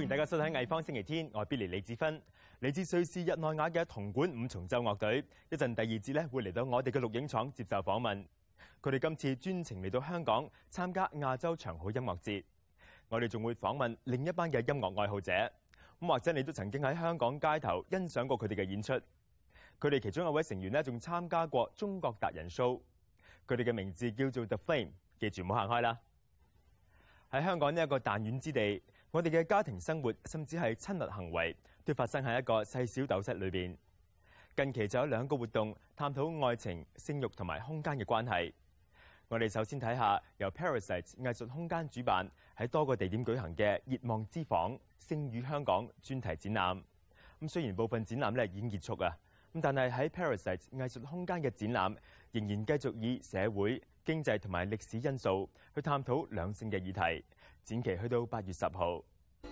大家收睇藝方星期天，我係 Billy 李子芬，嚟自瑞士日內瓦嘅銅管五重奏樂隊，一陣第二節咧會嚟到我哋嘅錄影廠接受訪問。佢哋今次專程嚟到香港參加亞洲長好音樂節，我哋仲會訪問另一班嘅音樂愛好者。咁或者你都曾經喺香港街頭欣賞過佢哋嘅演出。佢哋其中一位成員咧仲參加過中國達人 show， 佢哋嘅名字叫做 The Flame， 記住唔好行開啦。喺香港呢一個彈丸之地，我哋嘅家庭生活甚至係親密行為都發生喺一個細小斗室裏邊。近期就有2個活動探討愛情、性慾同埋空間嘅關係。我哋首先睇下由 Parasite 藝術空間主辦喺多個地點舉行嘅熱望之房星語香港專題展覽。咁雖然部分展覽咧已經結束啊，咁但係喺 Parasite 藝術空間嘅展覽仍然繼續以社會、經濟同埋歷史因素去探討兩性嘅議題。展期去到8月10號。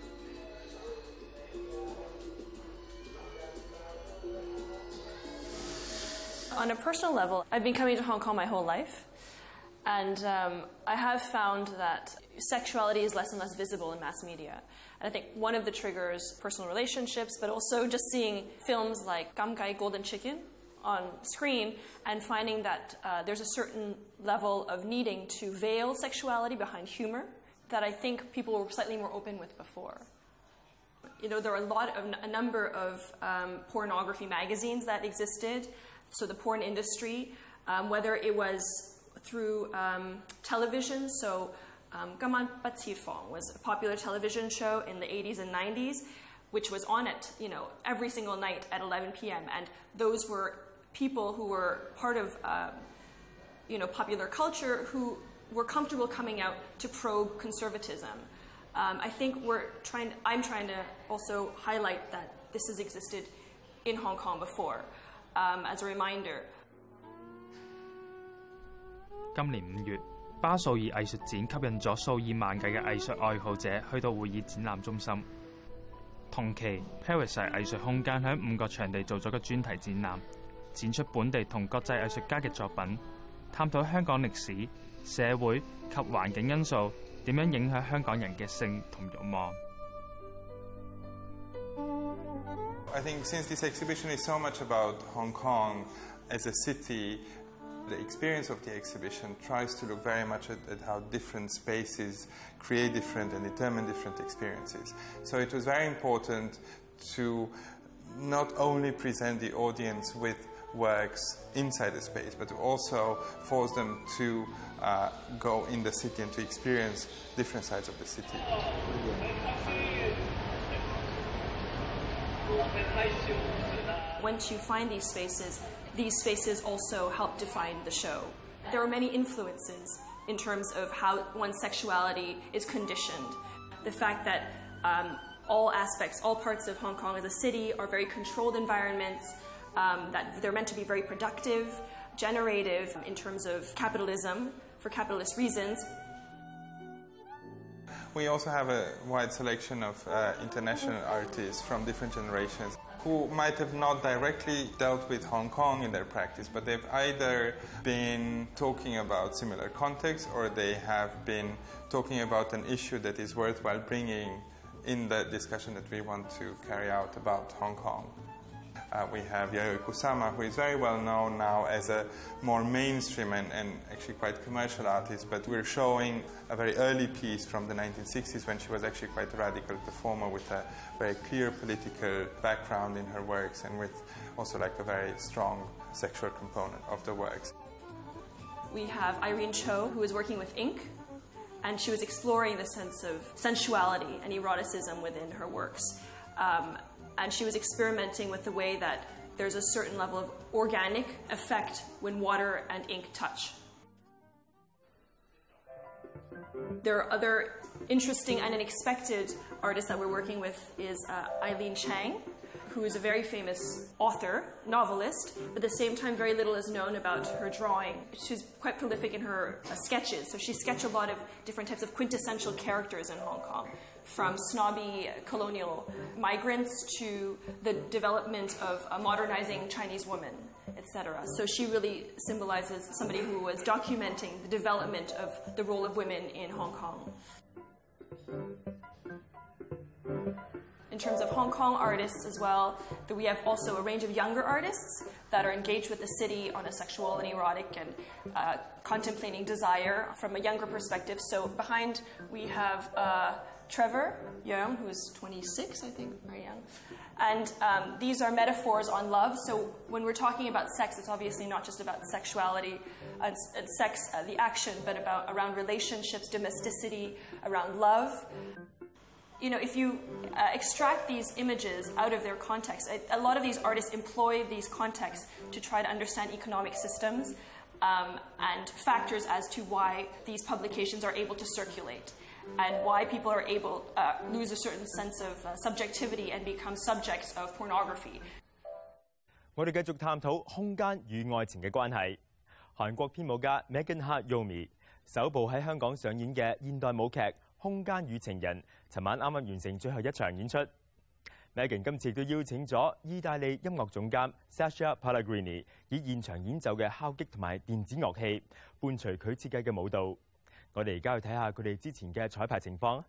On a personal level, I've been coming to Hong Kong my whole life, and I have found that sexuality is less and less visible in mass media. And I think one of the triggers, personal relationships, but also just seeing films like Gam Gai Golden Chicken on screen and finding that there's a certain level of needing to veil sexuality behind humor that I think people were slightly more open with before. You know, there are a number of pornography magazines that existed. So the porn industry, whether it was through television, so Gaman Batsifong was a popular television show in the 80s and 90s, which was on it, you know, every single night at 11 p.m. And those were people who were part of, you know, popular culture who were comfortable coming out to probe conservatism. I think I'm trying to also highlight that this has existed in Hong Kong before, as a reminder. 今年5月，巴素爾藝術展吸引咗數以萬計嘅藝術愛好者去到會議展覽中心。同期 ，Parasite 藝術空間喺5個場地做咗個專題展覽，展出本地同國際藝術家嘅作品，探討香港歷史、社會及環境因素點樣影響香港人嘅性同慾望。 I think since this exhibition is so much about Hong Kong as a city, the experience of the exhibition tries to look very much at how different spaces create different and determine different experiences. So it was very important to not only present the audience with works inside the space, but to also force them to go in the city and to experience different sides of the city. Once you find these spaces also help define the show. There are many influences in terms of how one's sexuality is conditioned. The fact that all parts of Hong Kong as a city are very controlled environments, that they're meant to be very productive, generative in terms of capitalism, for capitalist reasons. We also have a wide selection of international artists from different generations who might have not directly dealt with Hong Kong in their practice, but they've either been talking about similar contexts or they have been talking about an issue that is worthwhile bringing in the discussion that we want to carry out about Hong Kong. We have Yayoi Kusama, who is very well known now as a more mainstream and actually quite commercial artist, but we're showing a very early piece from the 1960s when she was actually quite a radical performer with a very clear political background in her works and with also like a very strong sexual component of the works. We have Irene Cho, who is working with ink, and she was exploring the sense of sensuality and eroticism within her works. And she was experimenting with the way that there's a certain level of organic effect when water and ink touch. There are other interesting and unexpected artists that we're working with is Eileen Chang, who is a very famous author, novelist, but at the same time very little is known about her drawing. She's quite prolific in her sketches, so she sketched a lot of different types of quintessential characters in Hong Kong, from snobby colonial migrants to the development of a modernizing Chinese woman, etc. So she really symbolizes somebody who was documenting the development of the role of women in Hong Kong. In terms of Hong Kong artists as well, that we have also a range of younger artists that are engaged with the city on a sexual and erotic and contemplating desire from a younger perspective. So behind we have Trevor Young, who is 26, I think, very young. And these are metaphors on love. So when we're talking about sex, it's obviously not just about sexuality and sex, the action, but around relationships, domesticity, around love. You know, if you extract these images out of their context, a lot of these artists employ these contexts to try to understand economic systems and factors as to why these publications are able to circulate and why people are able lose a certain sense of subjectivity and become subjects of pornography. 我哋繼續探討空間與愛情嘅關係。韓國編舞家 Megan Hart Yomi 首部喺香港上演嘅現代舞劇《空間與情人》，尋晚啱啱完成最後一場演出。Megan 今次亦都邀請咗意大利音樂總監 Sasha Pellegrini 以現場演奏嘅敲擊同埋電子樂器，伴隨佢設計嘅舞蹈。我哋而家去睇下佢哋之前嘅彩排情況。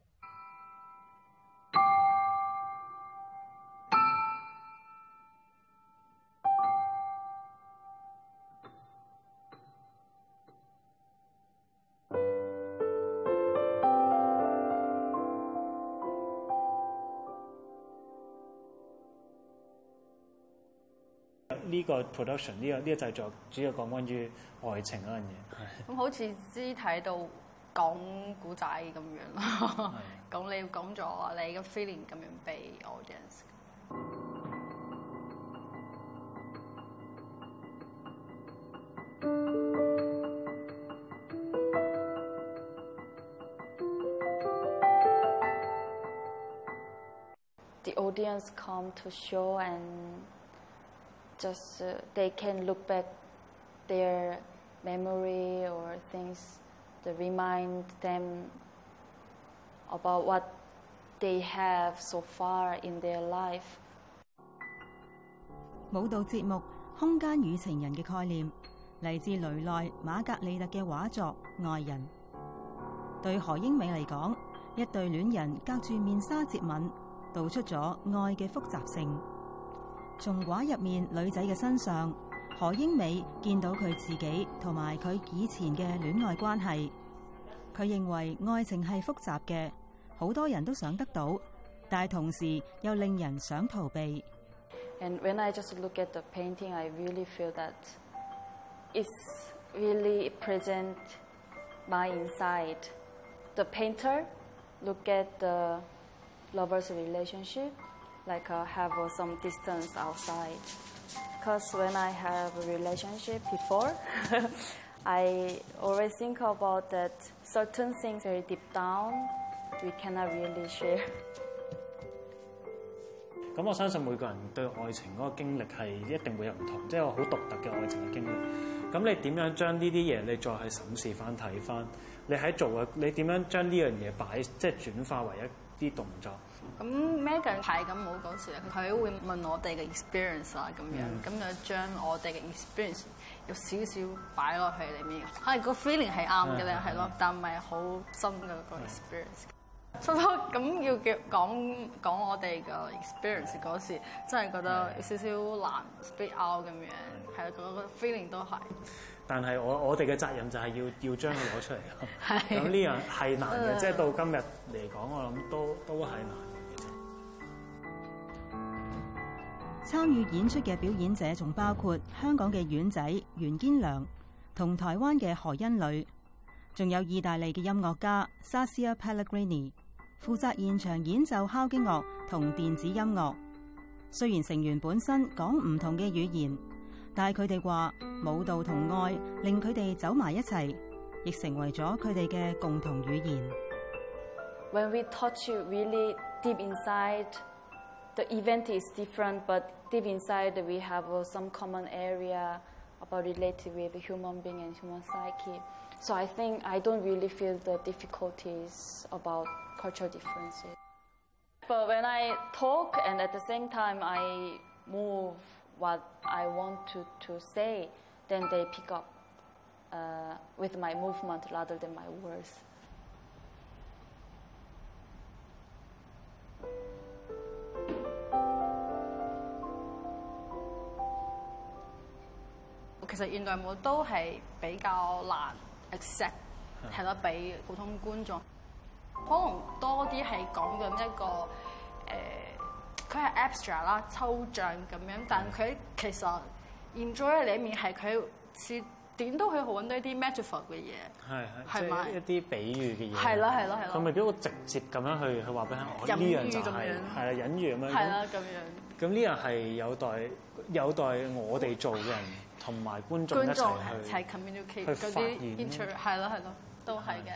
呢個 production 呢個製作主要講關於愛情嗰樣嘢。 咁好似肢體度講古仔咁樣咯。咁你講咗你嘅 feeling 咁樣俾 audience。 The audience come to show and just they can look back their memory or things that remind them about what they have so far in their life. 舞蹈節目《空間與情人》嘅概念嚟自雷內馬格利特嘅畫作《愛人》。對何英美嚟講，一對戀人隔住面紗接吻，道出咗愛嘅複雜性。從畫入面女仔嘅身上，何英美見到佢自己同埋佢以前嘅戀愛關係。佢認為愛情係複雜嘅，好多人都想得到，但係同時又令人想逃避。 And when I just look at the painting, I really feel that it's really present my inside. The painter look at the lovers' relationship, like have some distance outside. Because when I have a relationship before, I always think about that certain things very deep down we cannot really share. 咁我相信每個人對愛情嗰個經歷係一定會有唔同，即係有好獨特嘅愛情嘅經歷。咁你點樣將呢啲嘢你再去審視翻睇翻？你喺做嘅，你點樣將呢樣嘢擺，即係轉化為一啲動作？ 咁 Megan 排緊舞嗰時，佢會問我哋嘅 experience 啊咁樣，咁就將我哋嘅 experience 有少少擺落去裡面。係個 feeling 係啱嘅咧，係咯，但唔係好深嘅個 experience。所以咁要講我哋嘅 experience 嗰時，真係覺得有少少難 speak out 咁樣，係個 feeling 都係。但係我哋嘅責任就係要將佢攞出嚟咯。咁呢樣係難嘅，即係到今日嚟講，我諗都係難。 參與演出嘅表演者仲包括香港嘅丸仔袁堅良同台灣嘅何欣磊，仲有意大利嘅音樂家 Sasha Pellegrini 負責現場演奏敲擊樂同電子音樂。雖然成員本身講唔同嘅語言，但係佢哋話舞蹈同愛令佢哋走埋一齊，亦成為咗佢哋嘅共同語言。 When we touch really deep inside, the event is different, but deep inside we have some common area about related with human being and human psyche. So I think I don't really feel the difficulties about cultural differences. But when I talk and at the same time I move what I want to say, then they pick up with my movement rather than my words. 其實現代舞都係比較難 accept 係咯，俾普通觀眾。可能多啲係講緊一個佢係 abstract 啦，抽象咁樣，但佢其實 enjoy 裏面係佢似點都可以揾到一啲 metaphor 嘅嘢，係咪一啲比喻嘅嘢？ 係啦。 佢咪幾好直接咁樣去話俾我呢樣就係啦，隱喻咁樣。 係啦，咁樣。 咁呢樣係有待我哋做嘅人同埋觀眾一齊 communicate 去嗰啲 inter 係咯，都係嘅。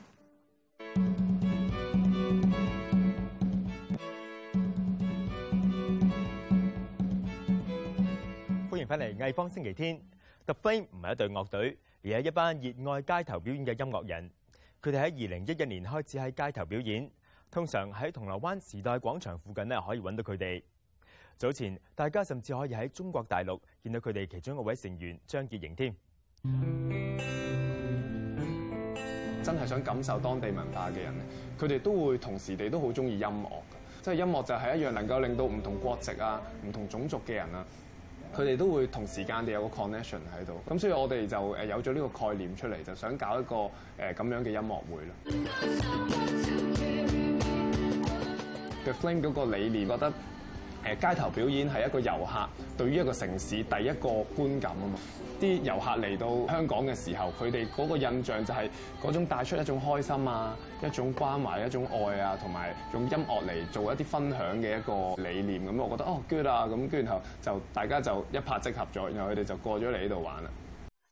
歡迎翻嚟藝坊星期天。The Flame 唔係一隊樂隊，而係一班熱愛街頭表演嘅音樂人。佢哋喺2011年開始喺街頭表演，通常喺銅鑼灣時代廣場附近咧可以揾到佢哋。早前大家甚至可以喺中國大陸見到佢哋其中一位成員張潔瑩添。 真係想感受當地文化嘅人，佢哋都會同時地都好中意音樂嘅，即係音樂就係一樣能夠令到唔同國籍啊、唔同種族嘅人啊，佢哋都會同時間地有個 connection 喺度。咁所以我哋就有咗呢個概念出嚟，就想搞一個咁樣嘅音樂會啦。The Flame 嗰個理念覺得街頭表演係一個遊客對於一個城市第一個觀感啊嘛。啲遊客嚟到香港嘅時候，佢哋嗰個印象就係嗰種帶出一種開心啊、一種關懷、一種愛啊，同埋用音樂嚟做一啲分享嘅一個理念。咁我覺得good 啊，咁跟住然後就大家就一拍即合咗，然後佢哋就過咗嚟呢度玩啦。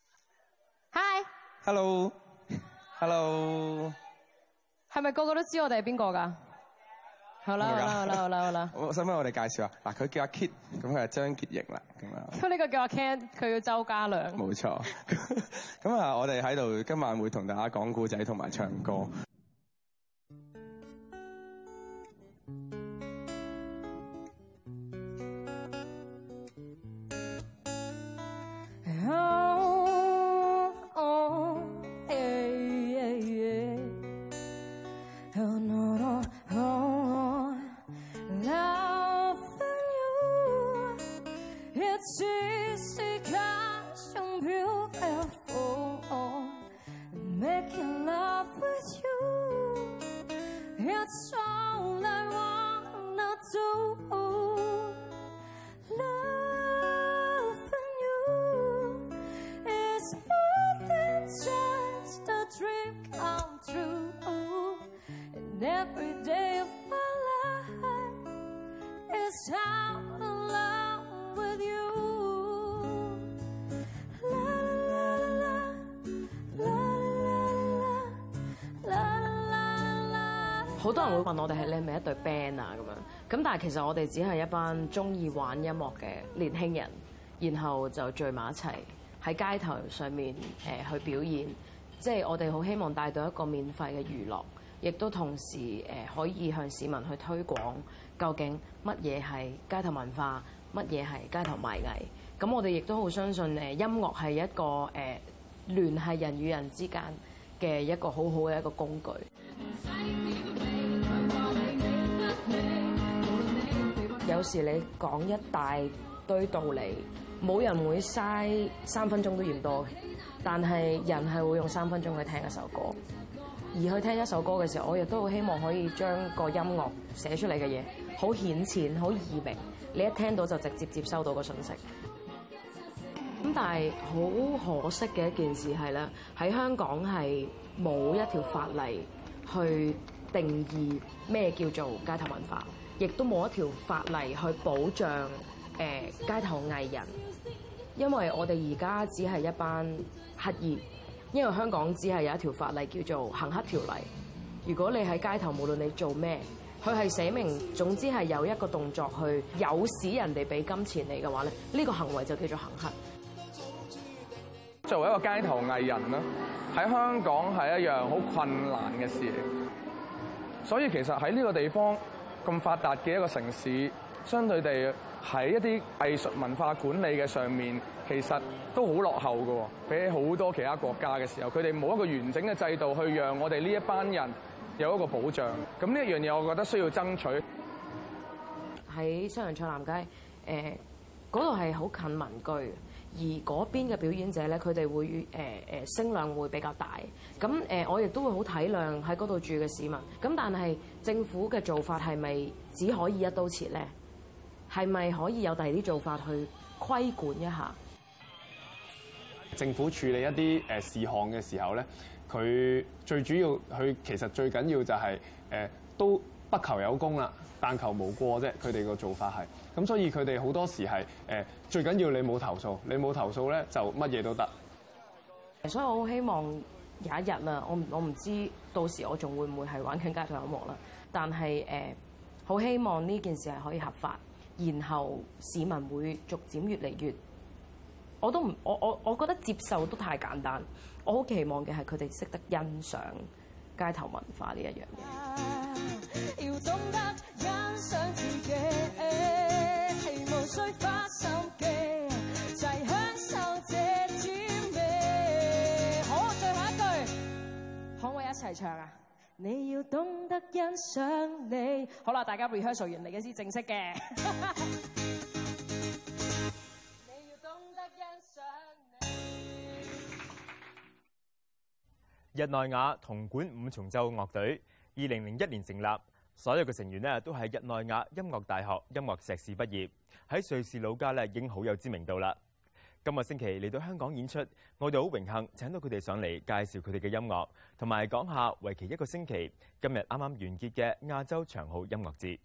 Hi，Hello，係咪個個都知我哋係邊個㗎？好啦，使唔使我哋介紹啊？嗱，佢叫阿 Kit， 咁佢係張潔瑩啦，咁啊。咁呢個叫阿 Ken， 佢叫周家良。冇錯。咁啊，我哋喺度今晚會同大家講故仔同埋唱歌。 好多人會問我哋係你係咪一隊 band 啊咁樣，咁但係其實我哋只係一班中意玩音樂嘅年輕人，然後就聚埋一齊喺街頭上面去表演，即係我哋好希望帶到一個免費嘅娛樂，亦都同時可以向市民去推廣究竟乜嘢係街頭文化，乜嘢係街頭賣藝。咁我哋亦都好相信音樂係一個聯繫人與人之間嘅一個好好嘅一個工具。有時你講一大堆道理，冇人會嘥3分鐘都嫌多嘅，但係人係會用3分鐘去聽一首歌。而去聽一首歌嘅時候，我亦都好希望可以將個音樂寫出嚟嘅嘢好顯淺、好易明，你一聽到就直接接收到個信息。咁但係好可惜嘅一件事係咧，喺香港係冇一條法例去定義咩叫做街頭文化，亦都冇一條法例去保障街頭藝人，因為我哋而家只係一班乞兒，因為香港只係有一條法例叫做行乞條例。如果你喺街頭，無論你做咩，佢係寫明，總之係有一個動作去誘使人哋俾金錢你嘅話咧，呢個行為就叫做行乞。 作為一個街頭藝人啦，喺香港係一樣好困難嘅事嚟，所以其實喺呢個地方咁發達嘅一個城市，相對地喺一啲藝術文化管理嘅上面，其實都好落後嘅。比起好多其他國家嘅時候，佢哋冇一個完整嘅制度去讓我哋呢一班人有一個保障。咁呢一樣嘢，我覺得需要爭取。喺西洋菜南街，嗰度係好近民居，而而嗰邊嘅表演者咧，佢哋會聲量會比較大。咁我亦都會好體諒喺嗰度住嘅市民。咁但係政府嘅做法係咪只可以一刀切咧？係咪可以有第二啲做法去規管一下？ 政府處理一啲事項嘅時候咧，佢最主要，佢其實最緊要就係都不求有功啦，但求無過啫。佢哋個做法係咁，所以佢哋好多時係最緊要你冇投訴，你冇投訴咧就乜嘢都得。 所以我好希望有一日啦，我唔知到時我仲會唔會係玩緊街頭音樂啦，但係好希望呢件事係可以合法，然後市民會逐漸越嚟越。我覺得接受都太簡單，我好期望嘅係佢哋識得欣賞街頭文化呢一樣嘢。要懂得欣賞自己，無需花心機，就係享受這滋味。好，最後一句，可唔可以一齊唱啊？你要懂得欣賞你。好啦，大家 rehearsal 完嚟嘅先正式嘅。 日內瓦銅管五重奏樂隊2001年成立，所有嘅成員咧都係日內瓦音樂大學音樂碩士畢業，喺瑞士老家咧已經好有知名度啦。今個星期嚟到香港演出，我哋好榮幸請到佢哋上嚟介紹佢哋嘅音樂，同埋講下為期1個星期，今日啱啱完結嘅亞洲長號音樂節。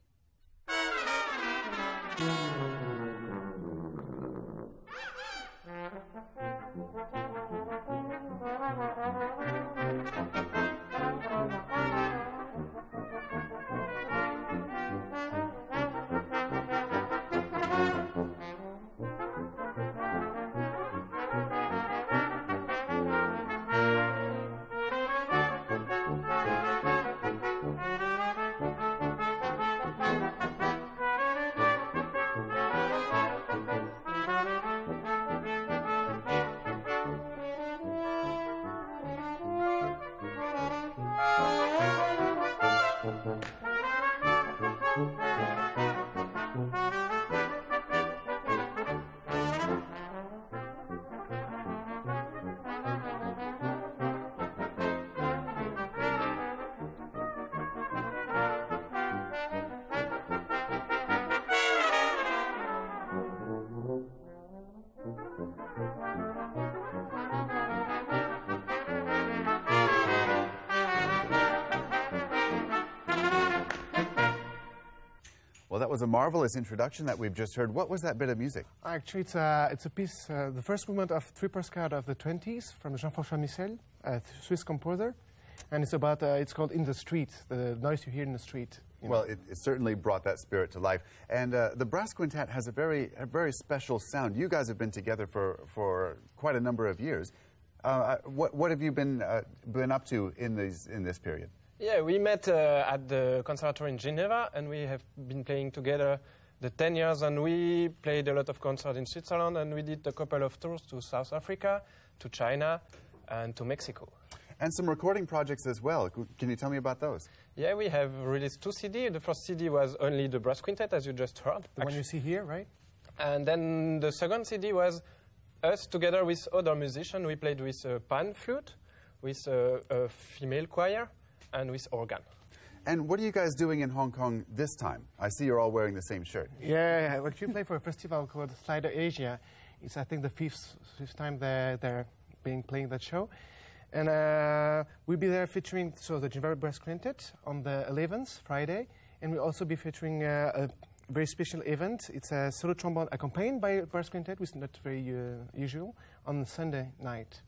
Well, that was a marvelous introduction that we've just heard. What was that bit of music? Actually, it's a piece, the first movement of Three Postcards of the 20s from Jean-François Michel, a Swiss composer. And it's about, it's called In the Street, the noise you hear in the street. Well, it certainly brought that spirit to life. And the brass quintet has a very special sound. You guys have been together for quite a number of years. What have you been up to in this period? Yeah, we met at the conservatory in Geneva, and we have been playing together the 10 years, and we played a lot of concerts in Switzerland, and we did a couple of tours to South Africa, to China, and to Mexico. And some recording projects as well. Can you tell me about those? Yeah, we have released 2 CDs. The first CD was only the brass quintet, as you just heard. The one you see here, right? And then the second CD was us together with other musicians. We played with a pan flute, with a female choir, and with organ. And what are you guys doing in Hong Kong this time? I see you're all wearing the same shirt. Yeah, we actually play for a festival called Slider Asia. It's, I think, the fifth time they're playing that show. And we'll be there featuring the Geneva Brass Quintet on the 11th, Friday. And we'll also be featuring a very special event. It's a solo trombone accompanied by a brass quintet, which is not very usual, on Sunday night.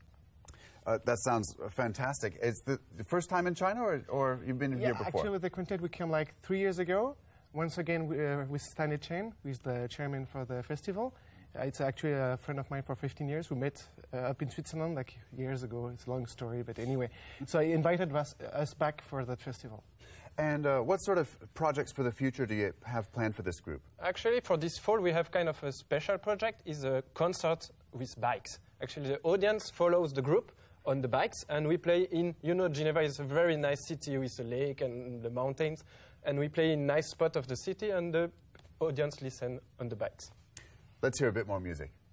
That sounds fantastic. It's the first time in China, or you've been here before? Actually, with the quintet, we came like 3 years ago. Once again, with Stanley Chen, who is the chairman for the festival. It's actually a friend of mine for 15 years. We met up in Switzerland like years ago. It's a long story, but anyway. So he invited us back for that festival. And what sort of projects for the future do you have planned for this group? Actually, for this fall, we have kind of a special project. It's a concert with bikes. Actually, the audience follows the group on the bikes, and we play in, Geneva is a very nice city with a lake and the mountains, and we play in a nice spot of the city, and the audience listen on the bikes. Let's hear a bit more music.